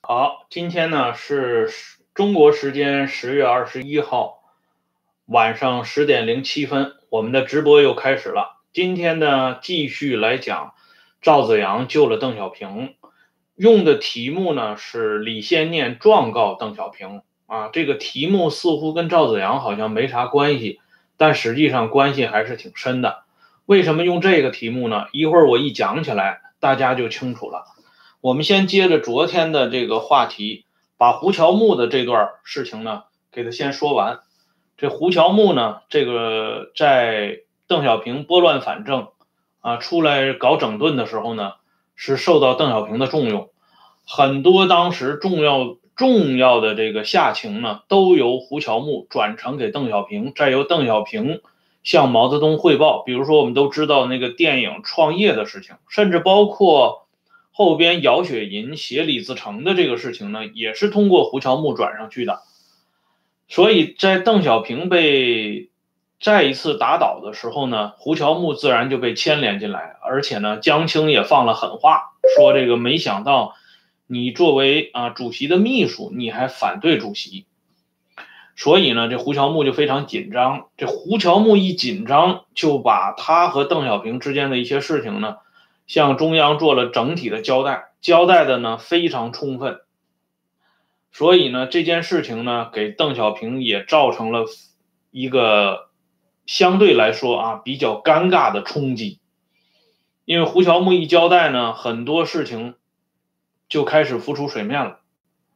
好，今天呢是中国时间10月21号晚上10:07，我们的直播又开始了。今天呢继续来讲赵紫阳救了邓小平，用的题目呢是李先念状告邓小平啊。这个题目似乎跟赵紫阳好像没啥关系，但实际上关系还是挺深的。为什么用这个题目呢？一会儿我一讲起来，大家就清楚了。我们先接着昨天的这个话题，把胡乔木的这段事情呢，给他先说完。这胡乔木呢，这个在邓小平拨乱反正出来搞整顿的时候呢，是受到邓小平的重用，很多当时重要的这个下情呢，都由胡乔木转呈给邓小平，再由邓小平向毛泽东汇报。比如说，我们都知道那个电影创业的事情，甚至包括后边姚雪银写李自成的这个事情呢，也是通过胡乔木转上去的。所以在邓小平被再一次打倒的时候呢，胡乔木自然就被牵连进来，而且呢，江青也放了狠话，说这个没想到你作为主席的秘书，你还反对主席。所以呢，这胡乔木就非常紧张。这胡乔木一紧张，就把他和邓小平之间的一些事情呢，向中央做了整体的交代，交代的呢非常充分。所以呢，这件事情呢，给邓小平也造成了一个相对来说比较尴尬的冲击。因为胡乔木一交代呢，很多事情就开始浮出水面了。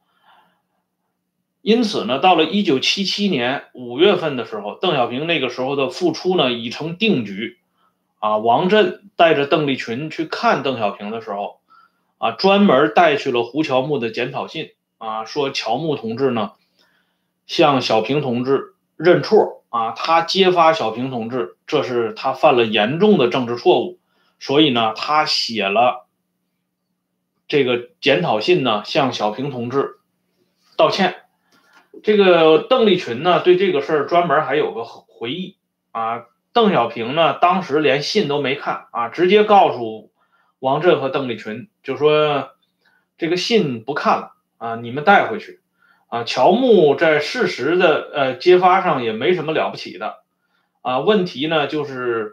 因此呢，到了1977年5月份的时候，邓小平那个时候的复出呢已成定局。王震带着邓丽群去看邓小平的时候，专门带去了胡乔木的检讨信，说乔木同志呢向小平同志认错，他揭发小平同志，这是他犯了严重的政治错误，所以呢，他写了这个检讨信呢，向小平同志道歉。这个邓丽群呢，对这个事儿专门还有个回忆邓小平呢，当时连信都没看直接告诉王震和邓丽群，就说这个信不看了你们带回去乔木在事实的揭发上也没什么了不起的问题呢就是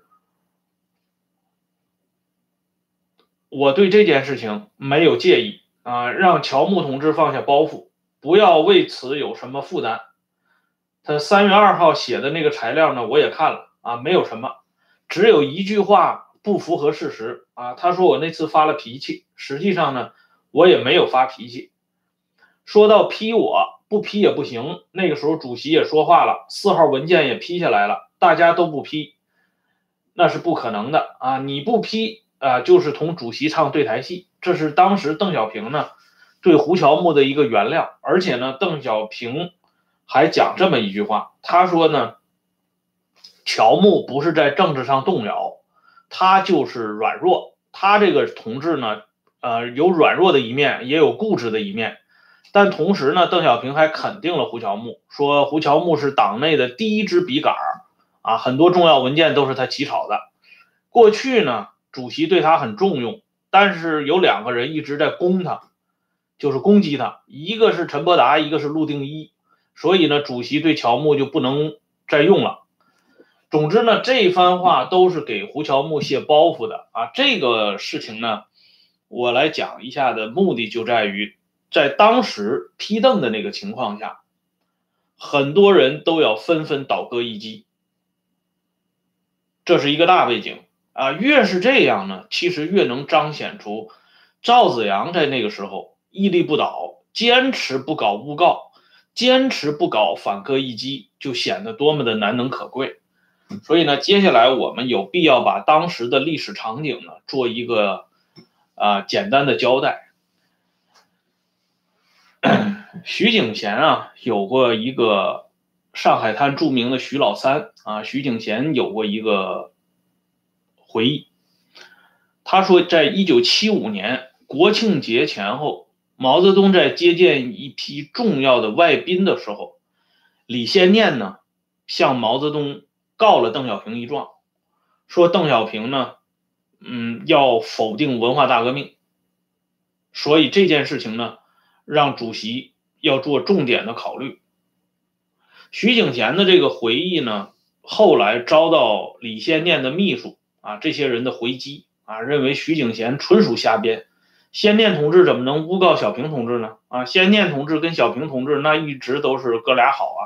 我对这件事情没有介意让乔木同志放下包袱，不要为此有什么负担。他3月2号写的那个材料呢，我也看了没有什么，只有一句话不符合事实他说我那次发了脾气，实际上呢，我也没有发脾气。说到批我，不批也不行，那个时候主席也说话了，4号文件也批下来了，大家都不批，那是不可能的你不批就是同主席唱对台戏。这是当时邓小平呢对胡乔木的一个原谅。而且呢，邓小平还讲这么一句话，他说呢，乔木不是在政治上动摇，他就是软弱。他这个同志呢，有软弱的一面，也有固执的一面。但同时呢，邓小平还肯定了胡乔木，说胡乔木是党内的第一支笔杆很多重要文件都是他起草的。过去呢，主席对他很重用，但是有2个人一直在攻他，就是攻击他，一个是陈伯达，一个是陆定一。所以呢，主席对乔木就不能再用了。总之呢，这番话都是给胡乔木卸包袱的这个事情呢，我来讲一下的目的就在于，在当时批邓的那个情况下，很多人都要纷纷倒戈一击，这是一个大背景越是这样呢，其实越能彰显出赵紫阳在那个时候屹立不倒，坚持不搞诬告，坚持不搞反戈一击，就显得多么的难能可贵。所以呢，接下来我们有必要把当时的历史场景呢做一个简单的交代。徐景贤有过一个上海滩著名的徐老三徐景贤有过一个回忆，他说在1975年国庆节前后，毛泽东在接见一批重要的外宾的时候，李先念呢向毛泽东告了邓小平一状，说邓小平呢要否定文化大革命。所以这件事情呢让主席要做重点的考虑。徐景贤的这个回忆呢，后来遭到李先念的秘书这些人的回击认为徐景贤纯属瞎编。先念同志怎么能诬告小平同志呢？先念同志跟小平同志那一直都是哥俩好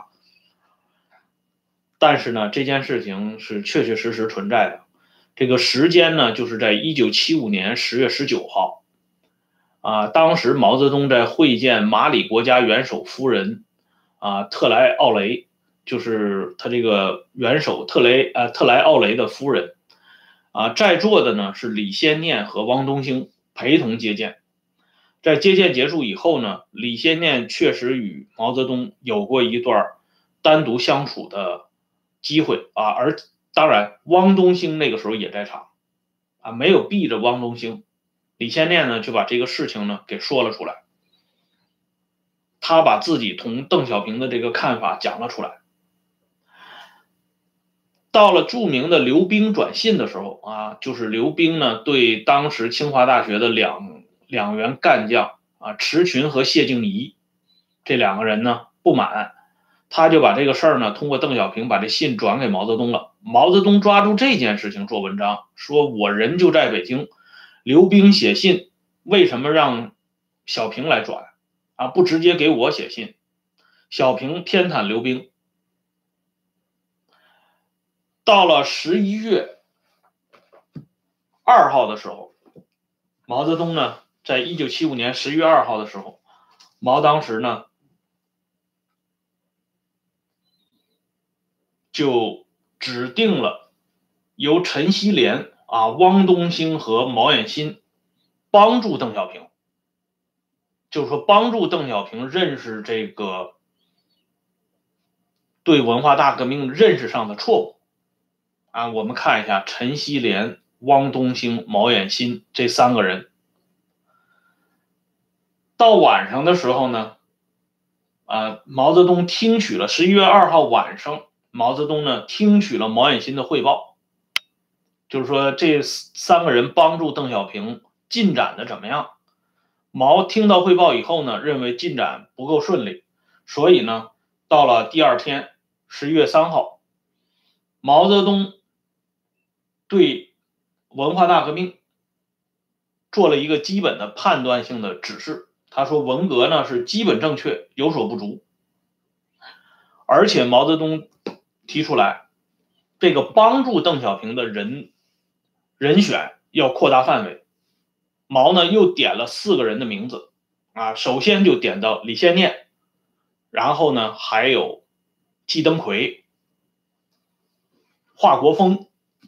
但是呢，这件事情是确确实实存在的。这个时间呢，就是在1975年10月19号当时毛泽东在会见马里国家元首夫人特莱奥雷，就是他这个元首特莱奥雷的夫人在座的呢是李先念和汪东兴陪同接见。在接见结束以后呢，李先念确实与毛泽东有过一段单独相处的机会而当然汪东兴那个时候也在场没有避着汪东兴。李先念呢就把这个事情呢给说了出来，他把自己同邓小平的这个看法讲了出来。到了著名的刘冰转信的时候就是刘冰呢对当时清华大学的两员干将迟群和谢静怡这两个人呢不满，他就把这个事儿呢通过邓小平把这信转给毛泽东了。毛泽东抓住这件事情做文章，说我人就在北京，刘冰写信为什么让小平来转不直接给我写信？小平偏袒刘冰。到了11月2号的时候，毛泽东呢在1975年11月2号的时候，毛当时呢就指定了由陈锡联汪东兴和毛远新帮助邓小平，就是说帮助邓小平认识这个对文化大革命认识上的错误我们看一下陈锡联、汪东兴、毛远新这三个人。到晚上的时候呢毛泽东听取了11月2号晚上，毛泽东呢听取了毛远新的汇报，就是说这三个人帮助邓小平进展的怎么样。毛听到汇报以后呢，认为进展不够顺利，所以呢到了第二天11月3号，毛泽东对文化大革命做了一个基本的判断性的指示。他说文革呢是基本正确，有所不足。而且毛泽东提出来，这个帮助邓小平的人选要扩大范围。毛呢又点了4个人的名字首先就点到李先念，然后呢还有季登奎、华国锋、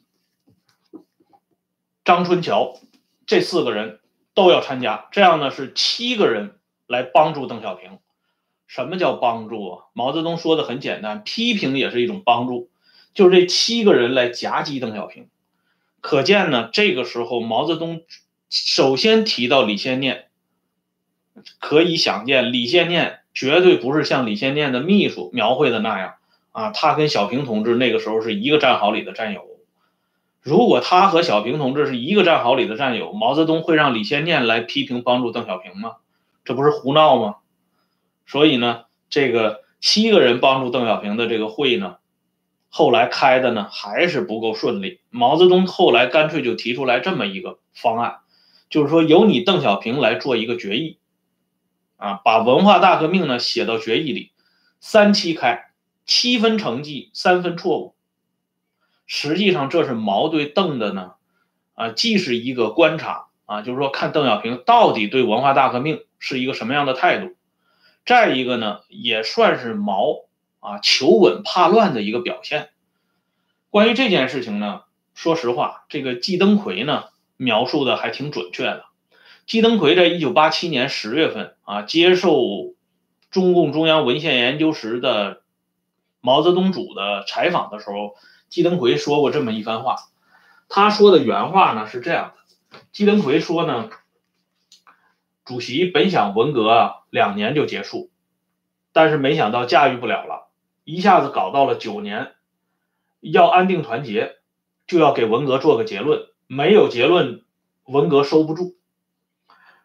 张春桥，这4个人都要参加，这样呢是7个人来帮助邓小平。什么叫帮助毛泽东说的很简单，批评也是一种帮助，就是这7个人来夹击邓小平。可见呢，这个时候毛泽东首先提到李先念，可以想见李先念绝对不是像李先念的秘书描绘的那样他跟小平同志那个时候是一个战壕里的战友。如果他和小平同志是一个战壕里的战友，毛泽东会让李先念来批评帮助邓小平吗？这不是胡闹吗？所以呢，这个7个人帮助邓小平的这个会呢，后来开的呢还是不够顺利。毛泽东后来干脆就提出来这么一个方案，就是说由你邓小平来做一个决议把文化大革命呢写到决议里，3期开，7分成绩，3分错误。实际上这是毛对邓的呢既是一个观察就是说看邓小平到底对文化大革命是一个什么样的态度，再一个呢也算是毛求稳怕乱的一个表现。关于这件事情呢，说实话这个季登奎呢描述的还挺准确的。季登奎在1987年10月份接受中共中央文献研究室的毛泽东组的采访的时候，季登奎说过这么一番话。他说的原话呢是这样的，季登奎说呢，主席本想文革2年就结束，但是没想到驾驭不了了，一下子搞到了9年，要安定团结，就要给文革做个结论，没有结论文革收不住。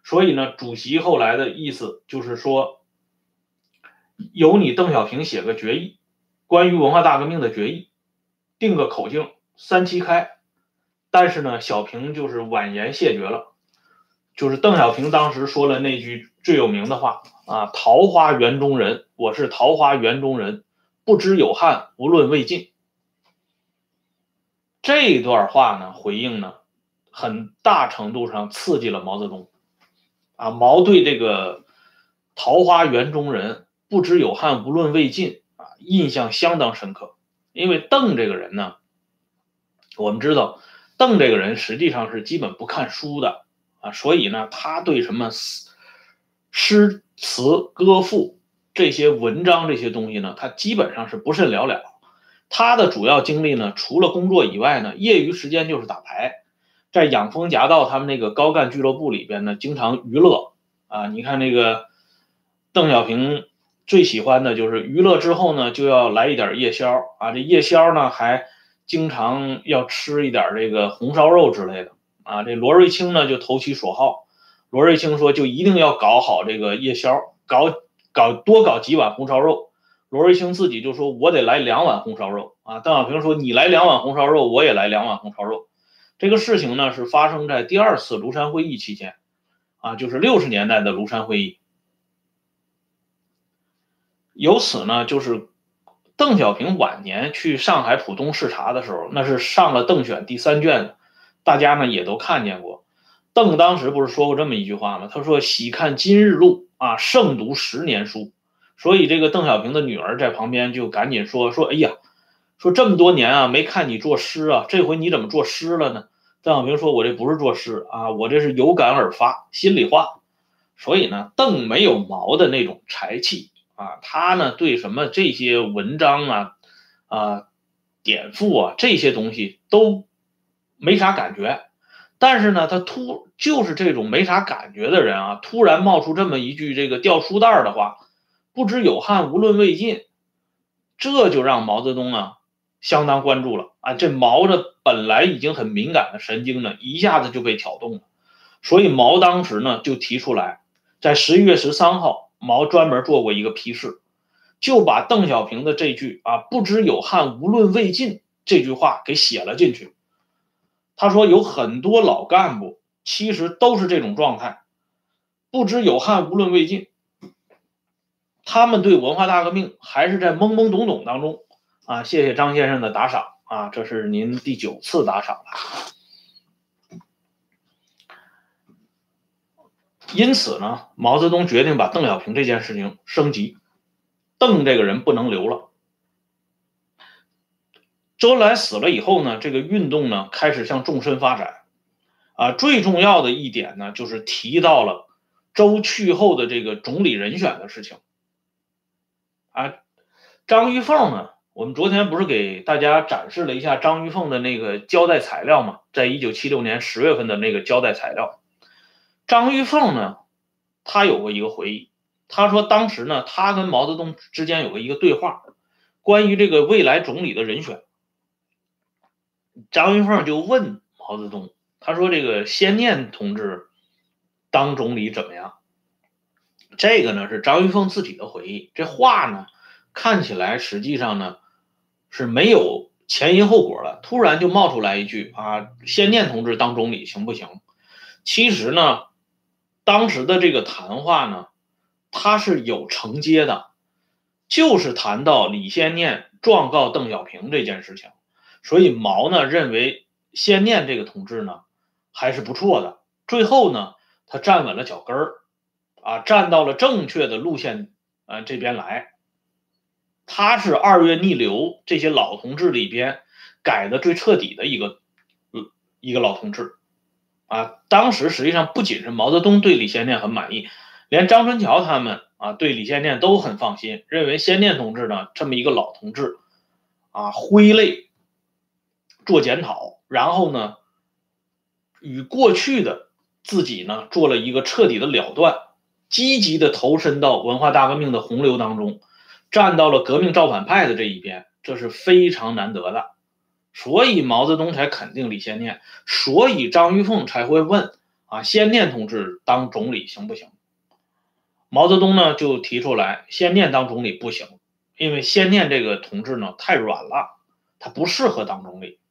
所以呢，主席后来的意思就是说，由你邓小平写个决议，关于文化大革命的决议，定个口径，3期开。但是呢，小平就是婉言谢绝了。就是邓小平当时说了那句最有名的话啊：桃花源中人，我是桃花源中人，不知有汉，无论魏晋。这段话呢，回应呢，很大程度上刺激了毛泽东啊。毛对这个桃花源中人，不知有汉，无论魏晋啊，印象相当深刻。因为邓这个人呢，我们知道邓这个人实际上是基本不看书的啊，所以呢，他对什么诗词歌赋这些文章这些东西呢，他基本上是不甚了了。他的主要精力呢，除了工作以外呢，业余时间就是打牌，在养蜂夹道他们那个高干俱乐部里边呢，经常娱乐啊。你看那个邓小平最喜欢的就是娱乐之后呢，就要来一点夜宵啊。这夜宵呢，还经常要吃一点这个红烧肉之类的啊。这罗瑞卿呢就投其所好，罗瑞卿说就一定要搞好这个夜宵，多搞几碗红烧肉。罗瑞卿自己就说：“我得来2碗红烧肉啊。”邓小平说：“你来2碗红烧肉，我也来2碗红烧肉。”这个事情呢是发生在第2次庐山会议期间啊，就是60年代的庐山会议。由此呢，就是邓小平晚年去上海浦东视察的时候，那是上了邓选第3卷的，大家呢也都看见过。邓当时不是说过这么一句话吗？他说：“喜看今日录啊，胜读10年书。”所以这个邓小平的女儿在旁边就赶紧说：“哎呀，说这么多年啊没看你作诗啊，这回你怎么作诗了呢？”邓小平说：“我这不是作诗啊，我这是有感而发，心里话。”所以呢，邓没有毛的那种才气啊，他呢对什么这些文章典赋啊这些东西都没啥感觉。但是呢，他就是这种没啥感觉的人啊，突然冒出这么一句这个掉书袋的话，不知有汉，无论魏晋，这就让毛泽东啊相当关注了啊。这毛的本来已经很敏感的神经呢，一下子就被挑动了。所以毛当时呢就提出来，在11月13号，毛专门做过一个批示，就把邓小平的这句啊“不知有汉，无论魏晋”这句话给写了进去。他说有很多老干部其实都是这种状态，不知有汉，无论魏晋。他们对文化大革命还是在懵懵懂懂当中啊。谢谢张先生的打赏啊，这是您第9次打赏了。因此呢，毛泽东决定把邓小平这件事情升级，邓这个人不能留了。周恩来死了以后呢，这个运动呢开始向纵深发展啊。最重要的一点呢，就是提到了周去后的这个总理人选的事情啊。张玉凤呢，我们昨天不是给大家展示了一下张玉凤的那个交代材料嘛，在1976年10月份的那个交代材料。张玉凤呢，他有过一个回忆，他说当时呢，他跟毛泽东之间有过一个对话，关于这个未来总理的人选。张玉凤就问毛泽东，他说这个先念同志当总理怎么样？这个呢是张玉凤自己的回忆，这话呢看起来实际上呢是没有前因后果了，突然就冒出来一句啊，先念同志当总理行不行？其实呢，当时的这个谈话呢，它是有承接的，就是谈到李先念状告邓小平这件事情。所以毛呢认为先念这个同志呢还是不错的，最后呢他站稳了脚跟儿啊，站到了正确的路线这边来。他是2月逆流这些老同志里边改的最彻底的一个老同志啊。当时实际上不仅是毛泽东对李先念很满意，连张春桥他们啊对李先念都很放心，认为先念同志呢这么一个老同志啊，挥泪做检讨，然后呢与过去的自己呢做了一个彻底的了断，积极的投身到文化大革命的洪流当中，站到了革命造反派的这一边，这是非常难得的。所以毛泽东才肯定李先念，所以张玉凤才会问先念同志当总理行不行？毛泽东呢就提出来，先念当总理不行，因为先念这个同志呢太软了，他不适合当总理。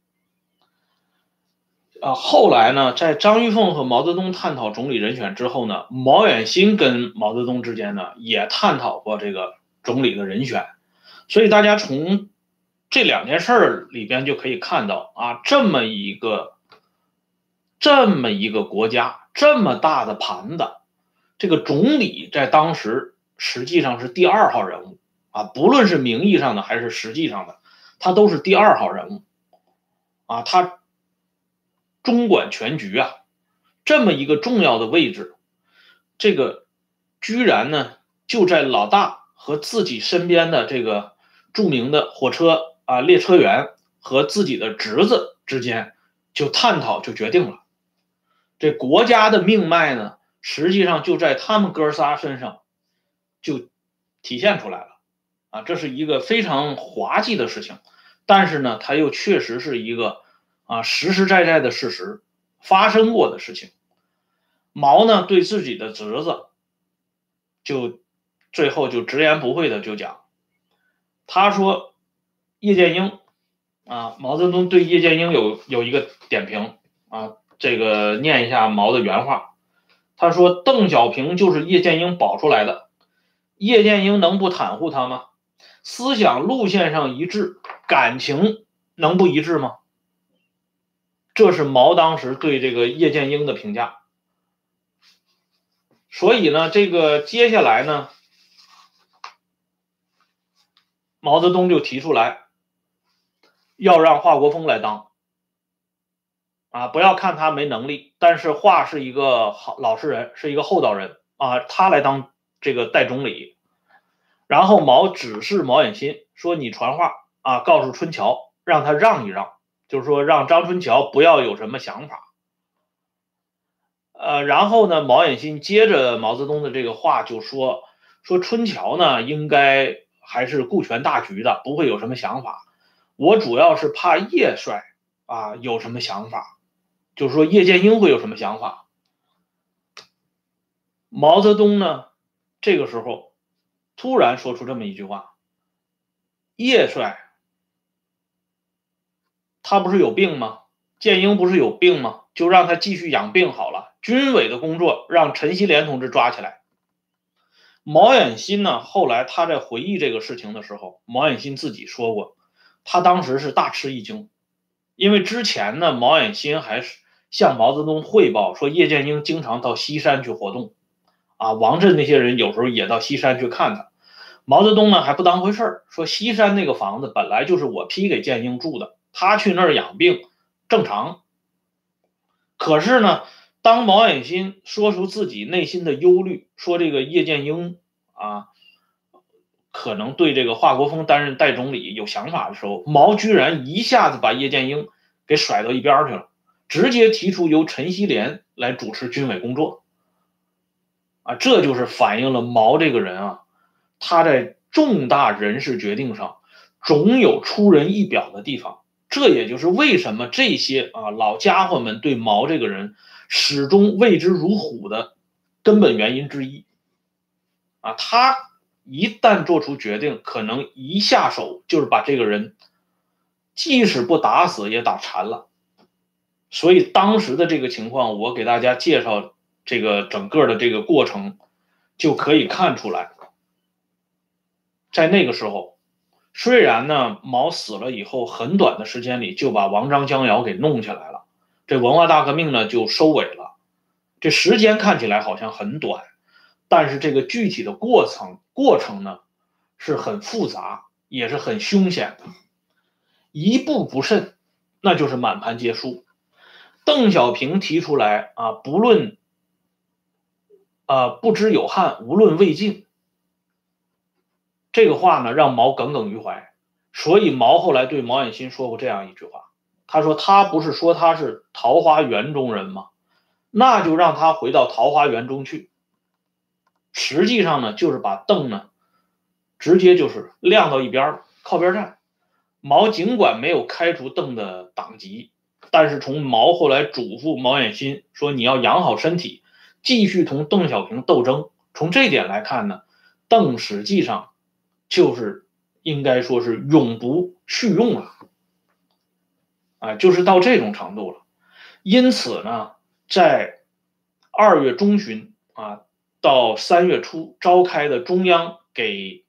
后来呢，在张玉凤和毛泽东探讨总理人选之后呢，毛远新跟毛泽东之间呢也探讨过这个总理的人选，所以大家从这2件事里边就可以看到这么一个国家，这么大的盘子，这个总理在当时实际上是第2号人物不论是名义上的还是实际上的，他都是第2号人物他中管全局这么一个重要的位置，这个居然呢就在老大和自己身边的这个著名的火车列车员和自己的侄子之间就探讨就决定了，这国家的命脉呢实际上就在他们哥仨身上就体现出来了这是一个非常滑稽的事情，但是呢它又确实是一个实实在在的事实，发生过的事情。毛呢对自己的侄子就最后就直言不讳的就讲，他说叶剑英毛泽东对叶剑英有一个点评这个念一下毛的原话，他说邓小平就是叶剑英保出来的，叶剑英能不袒护他吗？思想路线上一致，感情能不一致吗？这是毛当时对这个叶剑英的评价。所以呢，这个接下来呢，毛泽东就提出来要让华国锋来当不要看他没能力，但是华是一个老实人，是一个厚道人他来当这个代总理。然后毛指示毛远新说，你传话告诉春桥让他让一让，就是说让张春桥不要有什么想法。然后呢，毛远新接着毛泽东的这个话就说春桥呢应该还是顾全大局的，不会有什么想法。我主要是怕叶帅有什么想法，就是说叶剑英会有什么想法。毛泽东呢这个时候突然说出这么一句话，叶帅他不是有病吗？剑英不是有病吗？就让他继续养病好了，军委的工作让陈锡联同志抓起来。毛远新呢后来他在回忆这个事情的时候，毛远新自己说过，他当时是大吃一惊，因为之前呢毛远新还是向毛泽东汇报说叶剑英经常到西山去活动王震那些人有时候也到西山去看他。毛泽东呢还不当回事说西山那个房子本来就是我批给剑英住的，他去那儿养病正常。可是呢当毛远新说出自己内心的忧虑，说这个叶剑英可能对这个华国锋担任代总理有想法的时候，毛居然一下子把叶剑英给甩到一边去了，直接提出由陈锡联来主持军委工作这就是反映了毛这个人他在重大人事决定上总有出人意表的地方。这也就是为什么这些老家伙们对毛这个人始终畏之如虎的根本原因之一他一旦做出决定，可能一下手就是把这个人即使不打死也打残了。所以当时的这个情况，我给大家介绍这个整个的这个过程，就可以看出来，在那个时候，虽然呢毛死了以后很短的时间里就把王章江瑶给弄起来了，这文化大革命呢就收尾了，这时间看起来好像很短，但是这个具体的过程呢是很复杂，也是很凶险的，一步不慎那就是满盘皆输。邓小平提出来不论不知有汉，无论魏晋，这个话呢让毛耿耿于怀。所以毛后来对毛远新说过这样一句话，他说他不是说他是桃花源中人吗？那就让他回到桃花源中去。实际上呢就是把邓呢直接就是晾到一边靠边站。毛尽管没有开除邓的党籍但是从毛后来嘱咐毛远新说你要养好身体，继续同邓小平斗争。从这点来看呢，邓实际上就是应该说是永不续用了，就是到这种程度了。因此呢，在2月中旬到3月初召开的中央给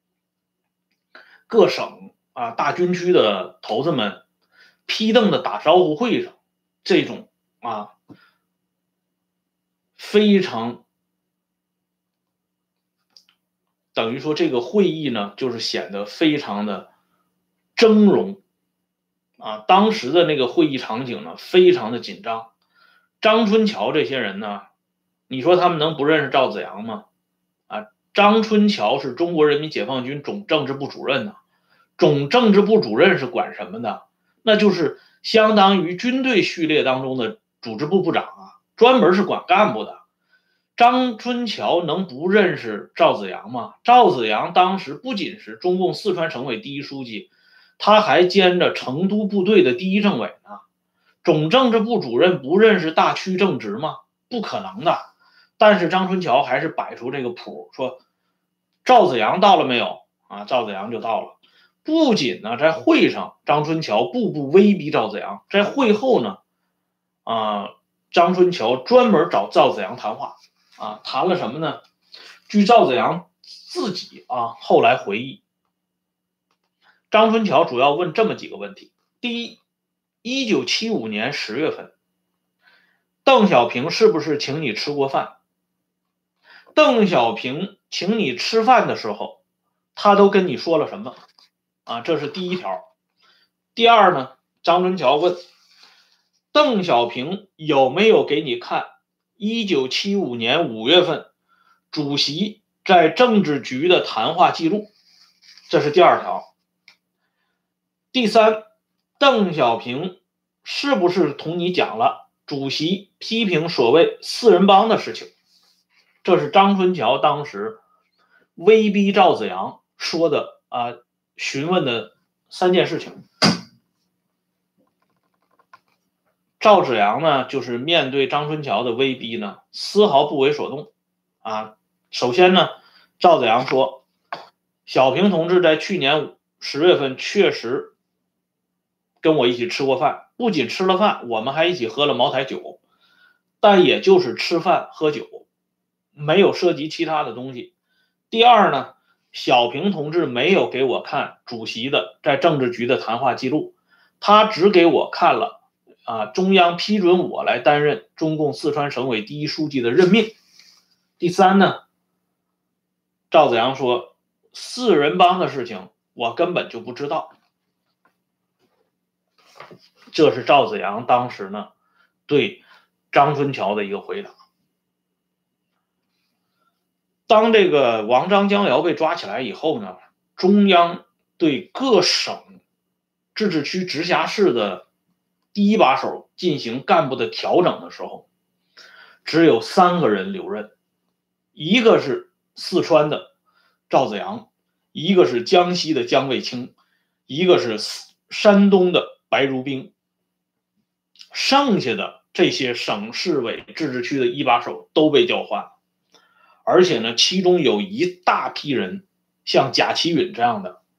各省大军区的头子们批邓的打招呼会上，这种非常等于说这个会议呢，就是显得非常的峥嵘当时的那个会议场景呢，非常的紧张。张春桥这些人呢，你说他们能不认识赵子阳吗？张春桥是中国人民解放军总政治部主任呢。总政治部主任是管什么的？那就是相当于军队序列当中的组织部部长专门是管干部的。张春桥能不认识赵子阳吗？赵子阳当时不仅是中共四川省委第一书记，他还兼着成都部队的第一政委呢。总政治部主任不认识大区正直吗？不可能的。但是张春桥还是摆出这个谱，说赵子阳到了没有赵子阳就到了。不仅呢，在会上张春桥步步威逼赵子阳，在会后呢张春桥专门找赵子阳谈话谈了什么呢？据赵子阳自己后来回忆，张春桥主要问这么几个问题。第一，1975年10月份，邓小平是不是请你吃过饭？邓小平请你吃饭的时候，他都跟你说了什么这是第一条。第二呢，张春桥问邓小平有没有给你看1975年5月份主席在政治局的谈话记录？这是第二条。第三，邓小平是不是同你讲了主席批评所谓四人帮的事情？这是张春桥当时威逼赵子阳说的询问的3件事情。赵子阳呢，就是面对张春桥的威逼呢，丝毫不为所动首先呢，赵子阳说，小平同志在去年10月份确实跟我一起吃过饭，不仅吃了饭，我们还一起喝了茅台酒，但也就是吃饭喝酒，没有涉及其他的东西。第二呢，小平同志没有给我看主席的在政治局的谈话记录，他只给我看了中央批准我来担任中共四川省委第一书记的任命。第三呢，赵子阳说四人帮的事情我根本就不知道。这是赵子阳当时呢对张春桥的一个回答。当这个王张江瑶被抓起来以后呢，中央对各省自治区直辖市的第一把手进行干部的调整的时候，只有3个人留任，一个是四川的赵子阳，一个是江西的姜卫清，一个是山东的白如冰。剩下的这些省市委自治区的一把手都被调换了，而且呢，其中有一大批人，像贾其允这样的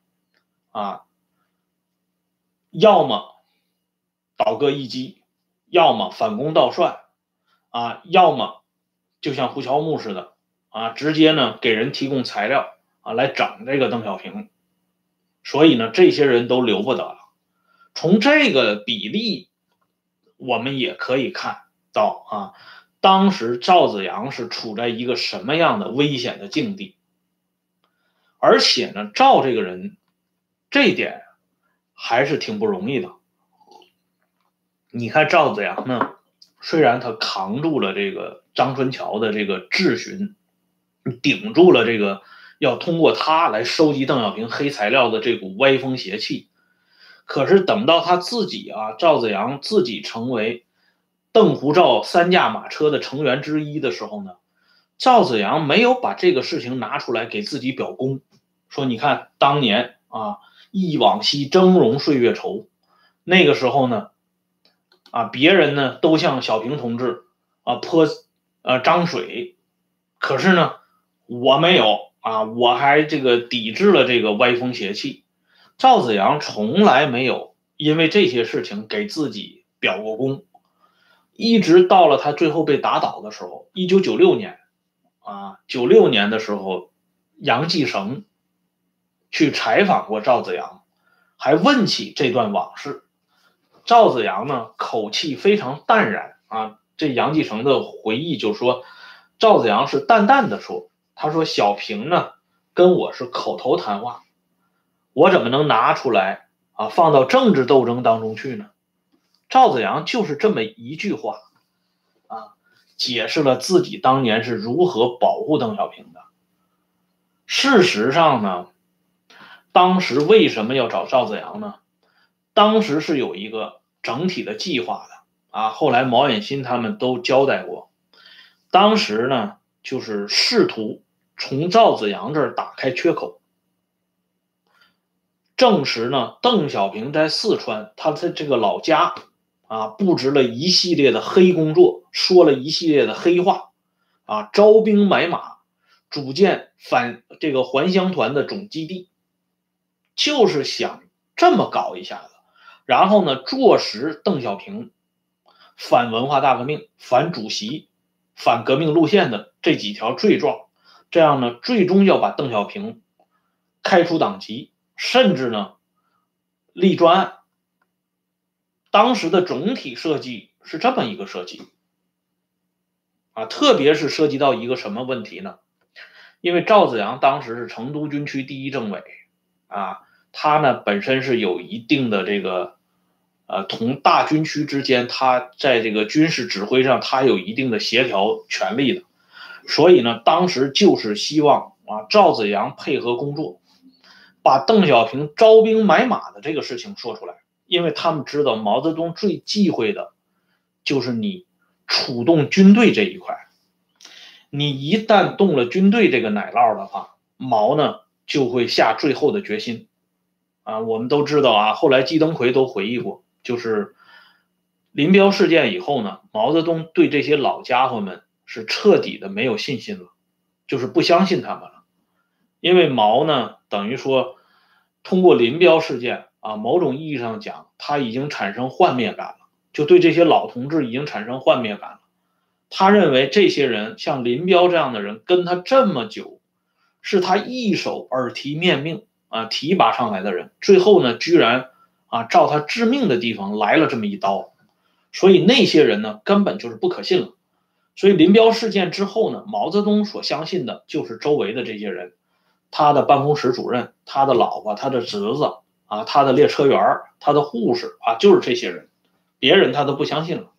要么倒戈一击，要么反攻倒算要么就像胡乔木似的直接呢给人提供材料来整这个邓小平。所以呢，这些人都留不得了。从这个比例我们也可以看到当时赵子阳是处在一个什么样的危险的境地。而且呢，赵这个人这一点还是挺不容易的。你看赵子阳呢，虽然他扛住了这个张春桥的这个质询，顶住了这个要通过他来收集邓小平黑材料的这股歪风邪气，可是等到他自己赵子阳自己成为邓胡赵3驾马车的成员之一的时候呢，赵子阳没有把这个事情拿出来给自己表功，说你看当年忆往昔峥嵘岁月稠，那个时候呢别人呢都向小平同志泼脏水，可是呢我没有我还这个抵制了这个歪风邪气。赵紫阳从来没有因为这些事情给自己表过功，一直到了他最后被打倒的时候，1996年96年的时候，杨继绳去采访过赵紫阳，还问起这段往事。赵紫阳呢口气非常淡然这杨继绳的回忆就说，赵紫阳是淡淡的说，他说小平呢跟我是口头谈话，我怎么能拿出来放到政治斗争当中去呢？赵紫阳就是这么一句话解释了自己当年是如何保护邓小平的。事实上呢，当时为什么要找赵紫阳呢？当时是有一个整体的计划的后来毛远新他们都交代过，当时呢就是试图从赵紫阳这儿打开缺口。证实呢，邓小平在四川他的这个老家布置了一系列的黑工作，说了一系列的黑话招兵买马，组建这个还乡团的总基地，就是想这么搞一下子，然后呢坐实邓小平反文化大革命、反主席、反革命路线的这几条罪状，这样呢最终要把邓小平开除党籍，甚至呢立专案。当时的总体设计是这么一个设计特别是涉及到一个什么问题呢？因为赵紫阳当时是成都军区第一政委他呢本身是有一定的这个同大军区之间，他在这个军事指挥上他有一定的协调权力的，所以呢当时就是希望赵紫阳配合工作，把邓小平招兵买马的这个事情说出来。因为他们知道毛泽东最忌讳的就是你触动军队这一块，你一旦动了军队这个奶酪的话，毛呢就会下最后的决心我们都知道后来季登奎都回忆过，就是林彪事件以后呢，毛泽东对这些老家伙们是彻底的没有信心了，就是不相信他们了。因为毛呢等于说通过林彪事件某种意义上讲，他已经产生幻灭感了，就对这些老同志已经产生幻灭感了。他认为这些人像林彪这样的人跟他这么久，是他一手耳提面命提拔上来的人，最后呢居然照他致命的地方来了这么一刀，所以那些人呢根本就是不可信了。所以林彪事件之后呢，毛泽东所相信的就是周围的这些人，他的办公室主任、他的老婆、他的侄子他的列车员、他的护士就是这些人，别人他都不相信了。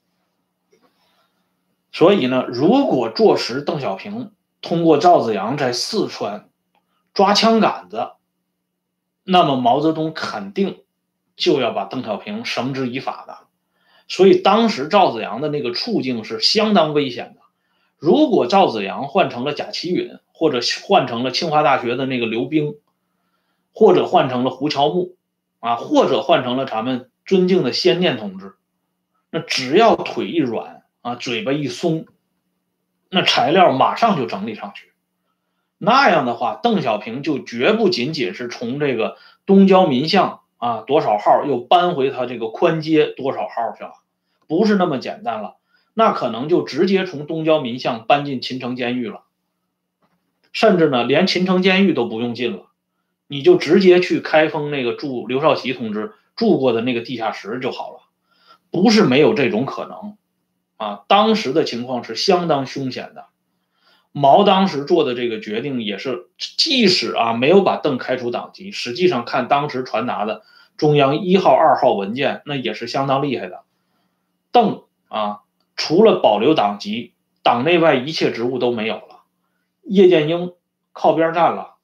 所以呢，如果坐实邓小平通过赵紫阳在四川抓枪杆子，那么毛泽东肯定就要把邓小平绳之以法的。所以当时赵紫阳的那个处境是相当危险的。如果赵紫阳换成了贾其允，或者换成了清华大学的那个刘冰，或者换成了胡乔木或者换成了咱们尊敬的先念同志，那只要腿一软嘴巴一松，那材料马上就整理上去。那样的话，邓小平就绝不仅仅是从这个东郊民巷多少号又搬回他这个宽街多少号去了，不是那么简单了，那可能就直接从东郊民巷搬进秦城监狱了，甚至呢连秦城监狱都不用进了，你就直接去开封那个住刘少奇同志住过的那个地下室就好了，不是没有这种可能当时的情况是相当凶险的。毛当时做的这个决定也是，即使没有把邓开除党籍，实际上看当时传达的中央1号、2号文件，那也是相当厉害的。邓除了保留党籍，党内外一切职务都没有了。叶剑英靠边站了，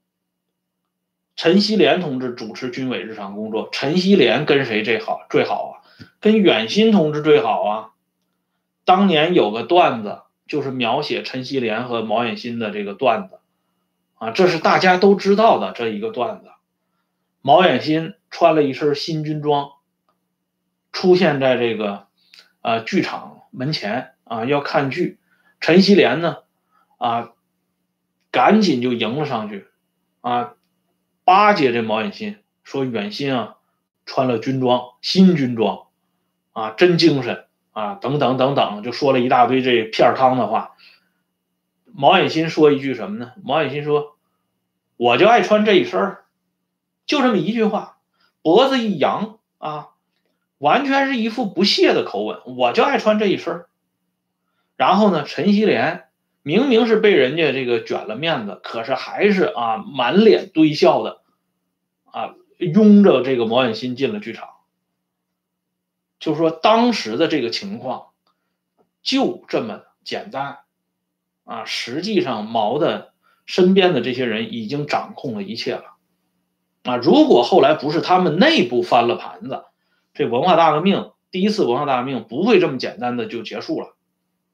陈锡联同志主持军委日常工作。陈锡联跟谁最好跟远新同志最好当年有个段子，就是描写陈锡联和毛远新的这个段子这是大家都知道的这一个段子。毛远新穿了一身新军装，出现在这个剧场门前啊要看剧，陈锡联呢啊赶紧就迎了上去啊，巴结这毛远新，说远新啊穿了军装，新军装啊真精神啊等等等等，就说了一大堆这片汤的话。毛远新说一句什么呢？毛远新说：“我就爱穿这一身儿。”就这么一句话，脖子一扬啊，完全是一副不屑的口吻。我就爱穿这一身儿。然后呢，陈锡联明明是被人家这个卷了面子，可是还是啊满脸堆笑的啊，拥着这个毛远新进了剧场。就说当时的这个情况就这么简单啊，实际上毛的身边的这些人已经掌控了一切了。啊，如果后来不是他们内部翻了盘子，这文化大革命第一次文化大革命不会这么简单的就结束了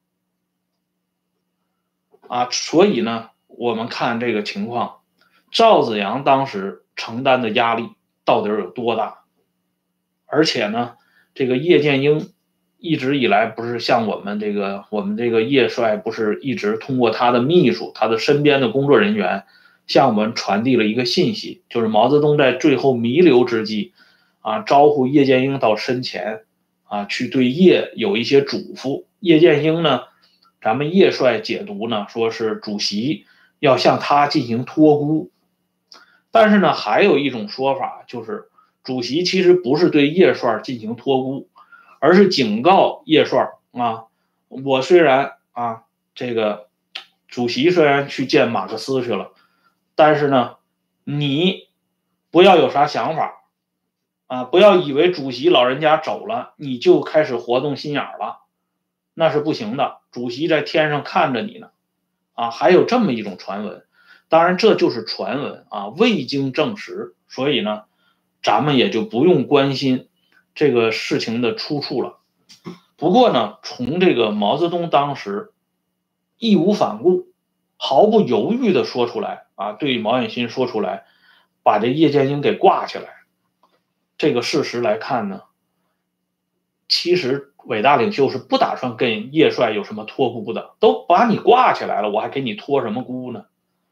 啊。所以呢，我们看这个情况，赵子阳当时承担的压力到底有多大？而且呢，这个叶剑英一直以来不是向我们这个叶帅不是一直通过他的秘书、他的身边的工作人员向我们传递了一个信息，就是毛泽东在最后弥留之际啊，招呼叶剑英到身前啊，去对叶有一些嘱咐。叶剑英呢，咱们叶帅解读呢，说是主席要向他进行托孤，但是呢，还有一种说法就是主席其实不是对叶帅进行托孤，而是警告叶帅啊，我虽然啊这个主席虽然去见马克思去了，但是呢，你不要有啥想法啊，不要以为主席老人家走了，你就开始活动心眼了，那是不行的。主席在天上看着你呢，啊，还有这么一种传闻，当然这就是传闻啊，未经证实，所以呢，咱们也就不用关心这个事情的出处了。不过呢，从这个毛泽东当时义无反顾、毫不犹豫地说出来啊，对毛远新说出来，把这叶剑英给挂起来，这个事实来看呢，其实伟大领袖是不打算跟叶帅有什么托孤的，都把你挂起来了，我还给你托什么孤呢？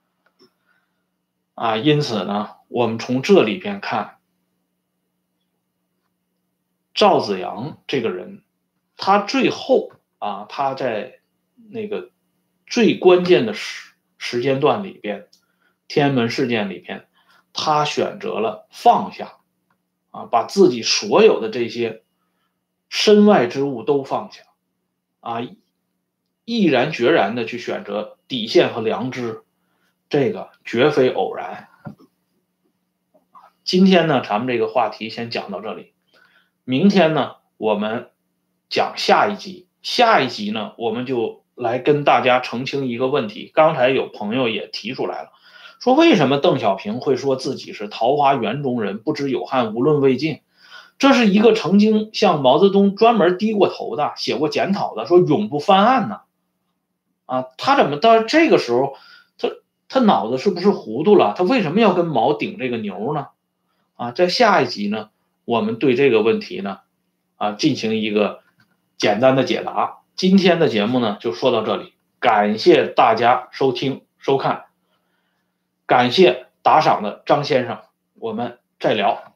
啊，因此呢，我们从这里边看，赵子阳这个人，他最后啊，他在那个最关键的时间段里边，天安门事件里边，他选择了放下，啊，把自己所有的这些身外之物都放下，啊，毅然决然的去选择底线和良知，这个绝非偶然。今天呢，咱们这个话题先讲到这里。明天呢，我们讲下一集。下一集呢，我们就来跟大家澄清一个问题。刚才有朋友也提出来了，说为什么邓小平会说自己是桃花源中人，不知有汉，无论魏晋？这是一个曾经向毛泽东专门低过头的、写过检讨的，说永不翻案呢。啊，他怎么到这个时候，他脑子是不是糊涂了？他为什么要跟毛顶这个牛呢？啊，在下一集呢，我们对这个问题呢，啊，进行一个简单的解答。今天的节目呢，就说到这里，感谢大家收听收看，感谢打赏的张先生，我们再聊。